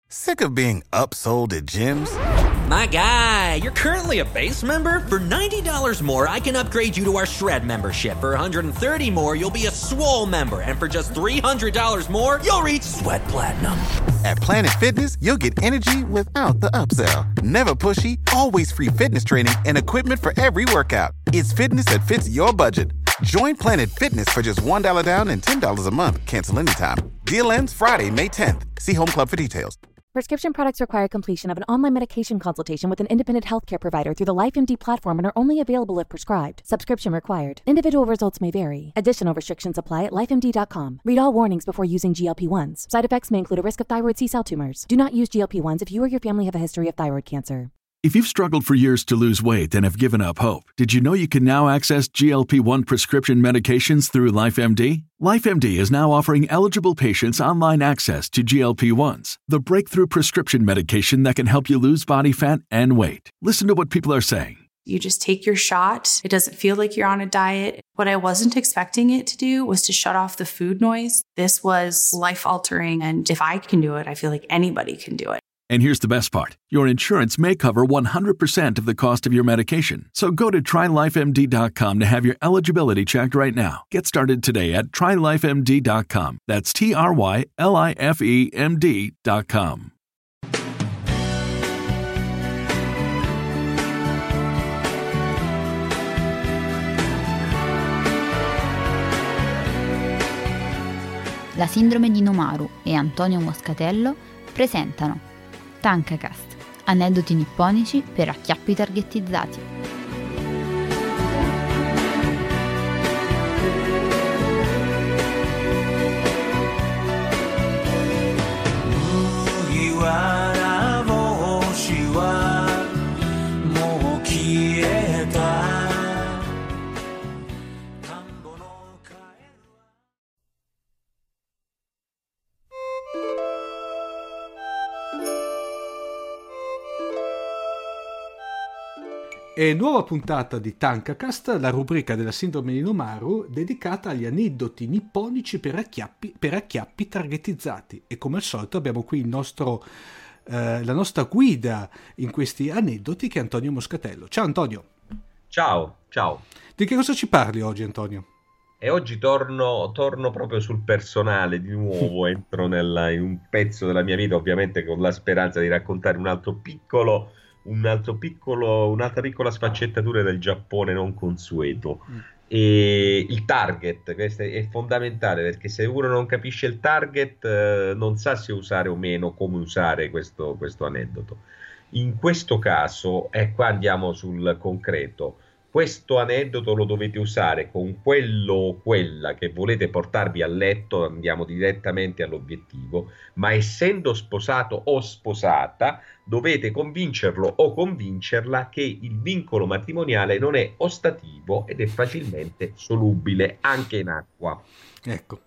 Sick of being upsold at gyms? My guy, you're currently a base member? For $90 more, I can upgrade you to our Shred membership. For $130 more, you'll be a Swole member. And for just $300 more, you'll reach Sweat Platinum. At Planet Fitness, you'll get energy without the upsell. Never pushy, always free fitness training and equipment for every workout. It's fitness that fits your budget. Join Planet Fitness for just $1 down and $10 a month. Cancel anytime. Deal ends Friday, May 10th. See Home Club for details. Prescription products require completion of an online medication consultation with an independent healthcare provider through the LifeMD platform and are only available if prescribed. Subscription required. Individual results may vary. Additional restrictions apply at lifemd.com. Read all warnings before using GLP-1s. Side effects may include a risk of thyroid C-cell tumors. Do not use GLP-1s if you or your family have a history of thyroid cancer. If you've struggled for years to lose weight and have given up hope, did you know you can now access GLP-1 prescription medications through LifeMD? LifeMD is now offering eligible patients online access to GLP-1s, the breakthrough prescription medication that can help you lose body fat and weight. Listen to what people are saying. You just take your shot. It doesn't feel like you're on a diet. What I wasn't expecting it to do was to shut off the food noise. This was life-altering, and if I can do it, I feel like anybody can do it. And here's the best part. Your insurance may cover 100% of the cost of your medication. So go to TryLifeMD.com to have your eligibility checked right now. Get started today at TryLifeMD.com. That's TryLifeMD.com. La sindrome di Nomaru e Antonio Moscatello presentano Tankacast, aneddoti nipponici per acchiappi targetizzati. E nuova puntata di Tankacast, la rubrica della sindrome di Nomaru dedicata agli aneddoti nipponici per acchiappi targetizzati. E come al solito abbiamo qui la nostra guida in questi aneddoti, che è Antonio Moscatello. Ciao Antonio. Ciao. Di che cosa ci parli oggi, Antonio? E oggi torno proprio sul personale di nuovo, entro in un pezzo della mia vita, ovviamente con la speranza di raccontare un'altra piccola sfaccettatura del Giappone non consueto. E il target, questo è fondamentale, perché se uno non capisce il target non sa se usare o meno, come usare questo aneddoto. In questo caso, qua andiamo sul concreto. Questo aneddoto lo dovete usare con quello o quella che volete portarvi a letto, andiamo direttamente all'obiettivo, ma essendo sposato o sposata dovete convincerlo o convincerla che il vincolo matrimoniale non è ostativo ed è facilmente solubile anche in acqua. Ecco.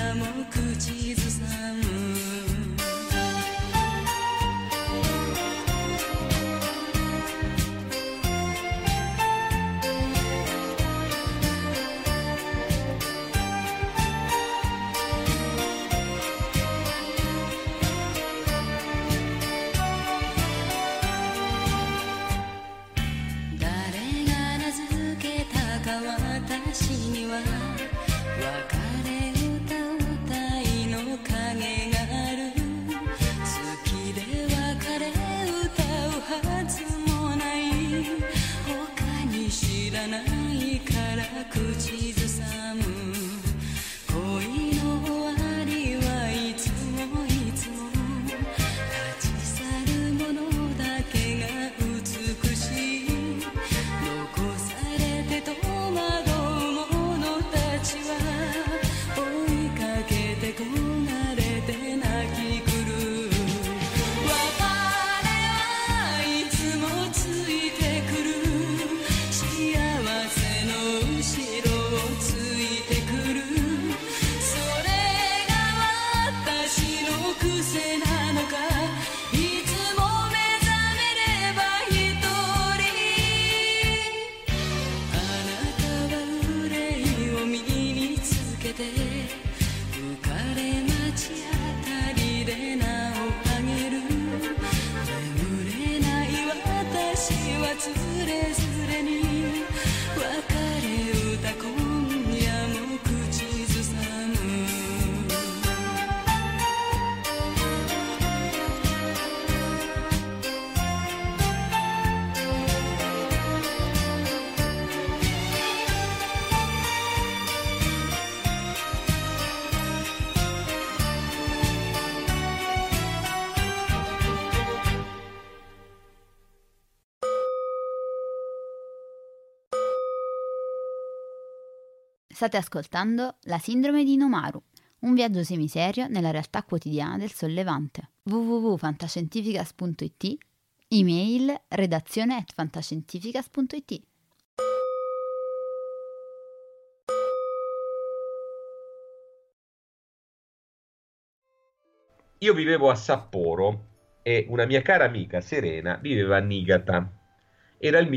State ascoltando La Sindrome di Inomaru, un viaggio semiserio nella realtà quotidiana del Sollevante. www.fantascientificas.it, email redazione@fantascientificas.it. Io vivevo a Sapporo e una mia cara amica Serena viveva a Niigata. Era il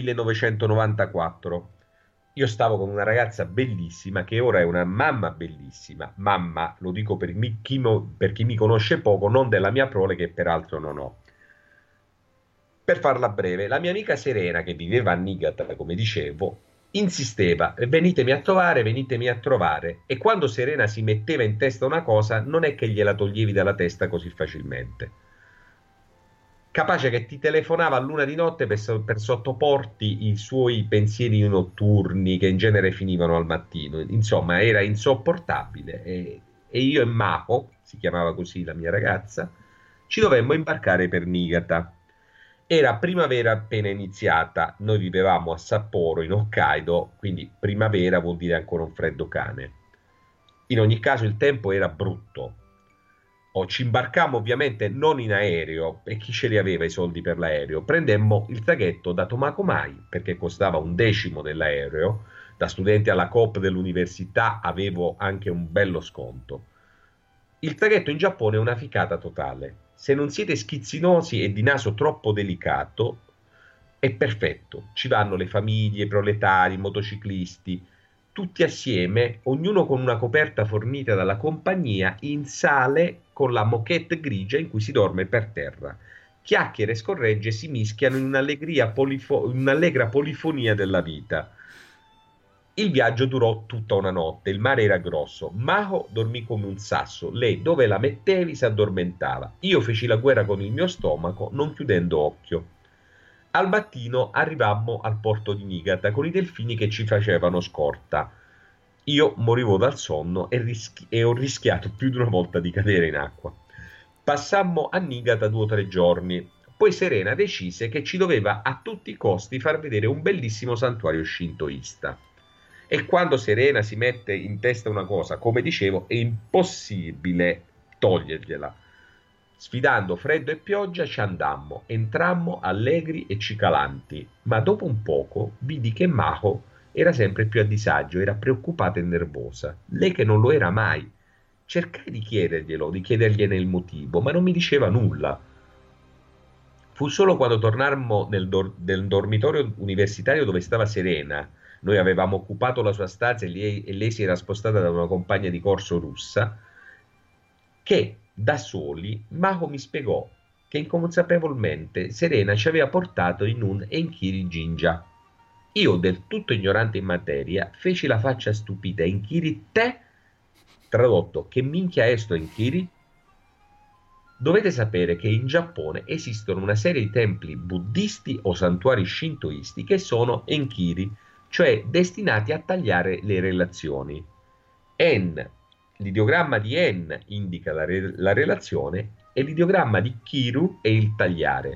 1994. Io stavo con una ragazza bellissima che ora è una mamma bellissima. Mamma, lo dico per chi mi conosce poco, non della mia prole, che peraltro non ho. Per farla breve, la mia amica Serena, che viveva a Niigata, come dicevo, insisteva: venitemi a trovare. E quando Serena si metteva in testa una cosa, non è che gliela toglievi dalla testa così facilmente. Capace che ti telefonava a luna di notte per sottoporti i suoi pensieri notturni, che in genere finivano al mattino. Insomma, era insopportabile. E io e Mako, si chiamava così la mia ragazza, ci dovemmo imbarcare per Niigata. Era primavera appena iniziata, noi vivevamo a Sapporo, in Hokkaido, quindi primavera vuol dire ancora un freddo cane. In ogni caso il tempo era brutto. Ci imbarcammo ovviamente non in aereo, e chi ce li aveva i soldi per l'aereo? Prendemmo il traghetto da Tomakomai, perché costava 1/10 dell'aereo. Da studente alla Coop dell'università avevo anche un bello sconto. Il traghetto in Giappone è una ficata totale. Se non siete schizzinosi e di naso troppo delicato, è perfetto. Ci vanno le famiglie, i proletari, i motociclisti, tutti assieme, ognuno con una coperta fornita dalla compagnia, in sale con la moquette grigia in cui si dorme per terra. Chiacchiere e scorregge si mischiano in un'allegra polifonia della vita. Il viaggio durò tutta una notte, il mare era grosso, Mako dormì come un sasso, lei dove la mettevi si addormentava, io feci la guerra con il mio stomaco non chiudendo occhio. Al mattino arrivammo al porto di Niigata con i delfini che ci facevano scorta. Io morivo dal sonno e ho rischiato più di una volta di cadere in acqua. Passammo a Niigata 2 o 3 giorni, poi Serena decise che ci doveva a tutti i costi far vedere un bellissimo santuario shintoista. E quando Serena si mette in testa una cosa, come dicevo, è impossibile togliergliela. Sfidando freddo e pioggia ci andammo, entrammo allegri e cicalanti, ma dopo un poco vidi che Mako era sempre più a disagio, era preoccupata e nervosa, lei che non lo era mai. Cercai di chiedergliene il motivo, ma non mi diceva nulla. Fu solo quando tornammo nel dormitorio universitario dove stava Serena, noi avevamo occupato la sua stanza e lei si era spostata da una compagna di corso russa, che da soli Mako mi spiegò che inconsapevolmente Serena ci aveva portato in un Enkiri Jinja. Io, del tutto ignorante in materia, feci la faccia stupita. Enkiri te? Tradotto, che minchia è sto Enkiri? Dovete sapere che in Giappone esistono una serie di templi buddisti o santuari shintoisti che sono Enkiri, cioè destinati a tagliare le relazioni. L'ideogramma di En indica la relazione e l'ideogramma di Kiru è il tagliare.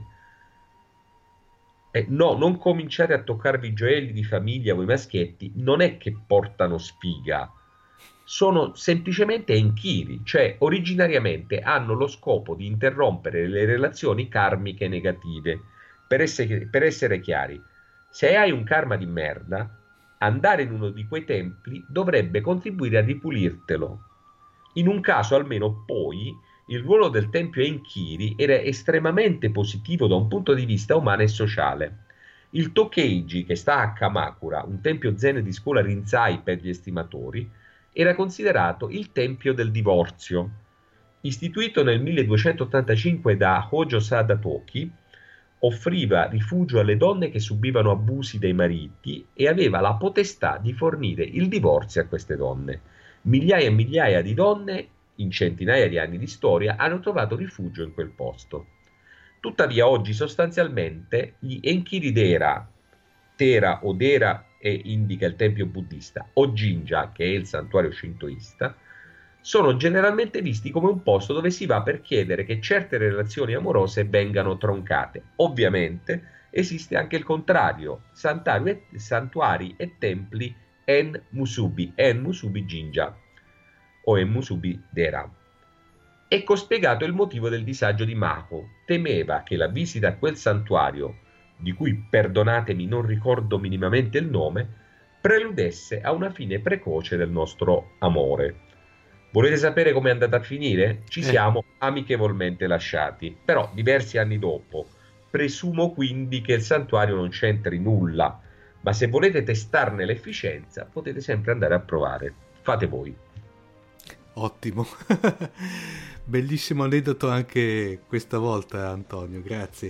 No, non cominciate a toccarvi i gioielli di famiglia voi maschietti, non è che portano sfiga, sono semplicemente Enkiri, cioè originariamente hanno lo scopo di interrompere le relazioni karmiche negative. Per essere chiari, se hai un karma di merda, andare in uno di quei templi dovrebbe contribuire a ripulirtelo. In un caso almeno poi il ruolo del tempio Enkiri era estremamente positivo da un punto di vista umano e sociale. Il Tokeiji, che sta a Kamakura, un tempio zen di scuola Rinzai per gli estimatori, era considerato il tempio del divorzio. Istituito nel 1285 da Hojo Sada Toki, offriva rifugio alle donne che subivano abusi dai mariti e aveva la potestà di fornire il divorzio a queste donne. Migliaia e migliaia di donne in centinaia di anni di storia hanno trovato rifugio in quel posto. Tuttavia oggi sostanzialmente gli Enkiri Tera o Dera indica il tempio buddista, o Jinja, che è il santuario shintoista, sono generalmente visti come un posto dove si va per chiedere che certe relazioni amorose vengano troncate. Ovviamente esiste anche il contrario, santuari e templi En-musubi Jinja o En-musubi Dera. Ecco spiegato il motivo del disagio di Mako. Temeva che la visita a quel santuario, di cui perdonatemi non ricordo minimamente il nome, preludesse a una fine precoce del nostro amore. Volete sapere com'è andata a finire? Ci siamo amichevolmente lasciati, però diversi anni dopo. Presumo quindi che il santuario non c'entri nulla, ma se volete testarne l'efficienza potete sempre andare a provare. Fate voi. Ottimo. Bellissimo aneddoto anche questa volta, Antonio, grazie.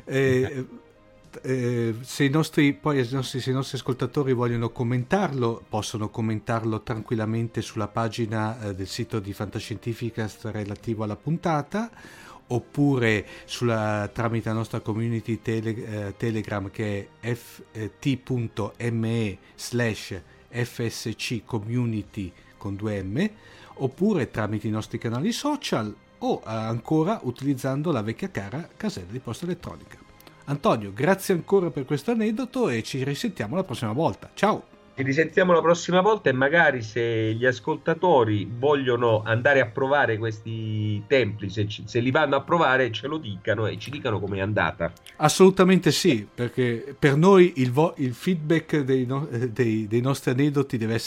Se i nostri ascoltatori vogliono commentarlo, possono commentarlo tranquillamente sulla pagina del sito di Fantascientificast relativo alla puntata, oppure tramite la nostra community Telegram, che è t.me/fsc community con 2M, oppure tramite i nostri canali social, o ancora utilizzando la vecchia cara casella di posta elettronica. Antonio, grazie ancora per questo aneddoto e ci risentiamo la prossima volta. Ciao! Ci risentiamo la prossima volta e magari se gli ascoltatori vogliono andare a provare questi templi, se li vanno a provare, ce lo dicano e ci dicano com'è andata. Assolutamente sì, perché per noi il feedback dei nostri aneddoti è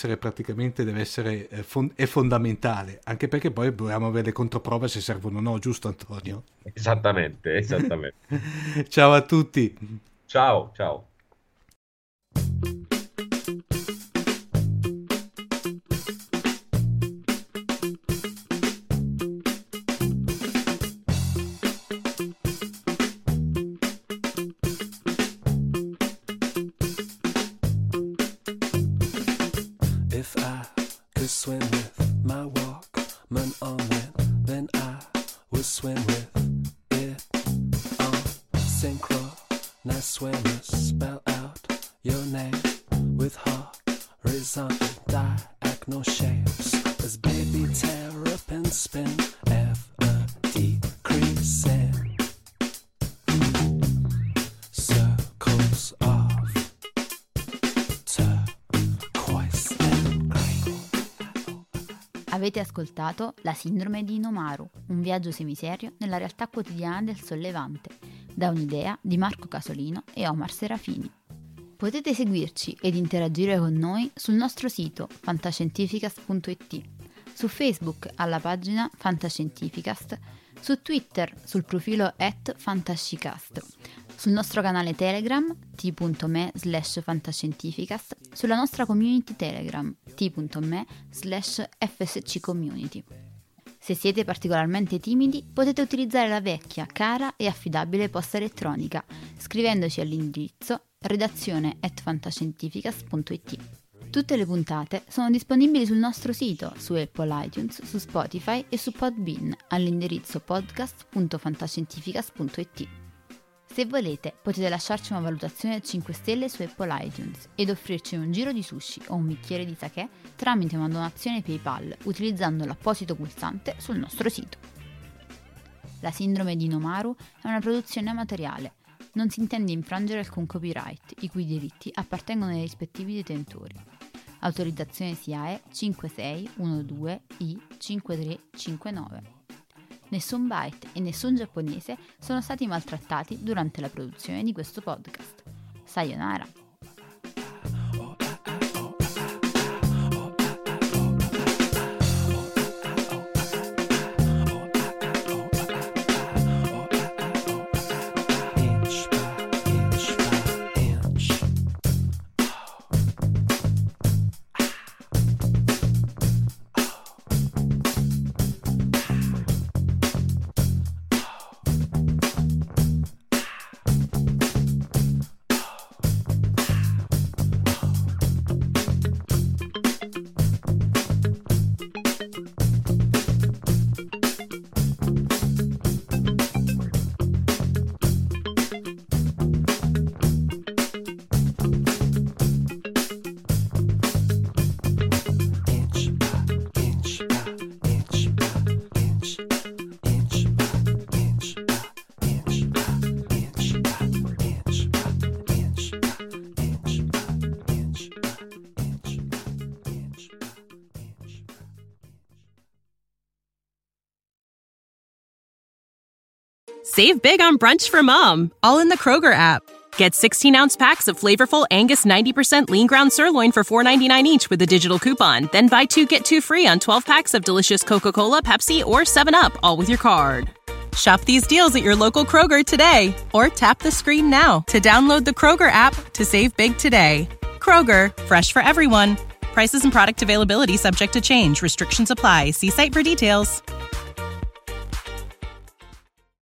fondamentale, anche perché poi dobbiamo avere le controprove se servono o no, giusto Antonio? Esattamente. Ciao a tutti. Ciao. If I could swim with my Walkman on it, then I would swim with it on synchro. Nice swimmers, spell out your name with horizontal diagonal shapes. As baby terrapins spin, decreasing circles of turquoise and green. Avete ascoltato La sindrome di Inomaru, un viaggio semiserio nella realtà quotidiana del Sollevante, da un'idea di Marco Casolino e Omar Serafini. Potete seguirci ed interagire con noi sul nostro sito fantascientificast.it, su Facebook alla pagina Fantascientificast, su Twitter sul profilo @fantascicast, sul nostro canale Telegram t.me/fantascientificast, sulla nostra community Telegram t.me/fsccommunity. Se siete particolarmente timidi, potete utilizzare la vecchia, cara e affidabile posta elettronica, scrivendoci all'indirizzo redazione@fantascientificast.it. Tutte le puntate sono disponibili sul nostro sito, su Apple iTunes, su Spotify e su Podbean, all'indirizzo podcast.fantascientificast.it. Se volete, potete lasciarci una valutazione a 5 stelle su Apple iTunes ed offrirci un giro di sushi o un bicchiere di sake tramite una donazione PayPal utilizzando l'apposito pulsante sul nostro sito. La sindrome di Nomaru è una produzione amatoriale. Non si intende infrangere alcun copyright, i cui diritti appartengono ai rispettivi detentori. Autorizzazione SIAE 5612I5359. Nessun byte e nessun giapponese sono stati maltrattati durante la produzione di questo podcast. Sayonara! Save big on brunch for mom, all in the Kroger app. Get 16-ounce packs of flavorful Angus 90% lean ground sirloin for $4.99 each with a digital coupon. Then buy 2, get 2 free on 12 packs of delicious Coca-Cola, Pepsi, or 7-Up, all with your card. Shop these deals at your local Kroger today, or tap the screen now to download the Kroger app to save big today. Kroger, fresh for everyone. Prices and product availability subject to change. Restrictions apply. See site for details.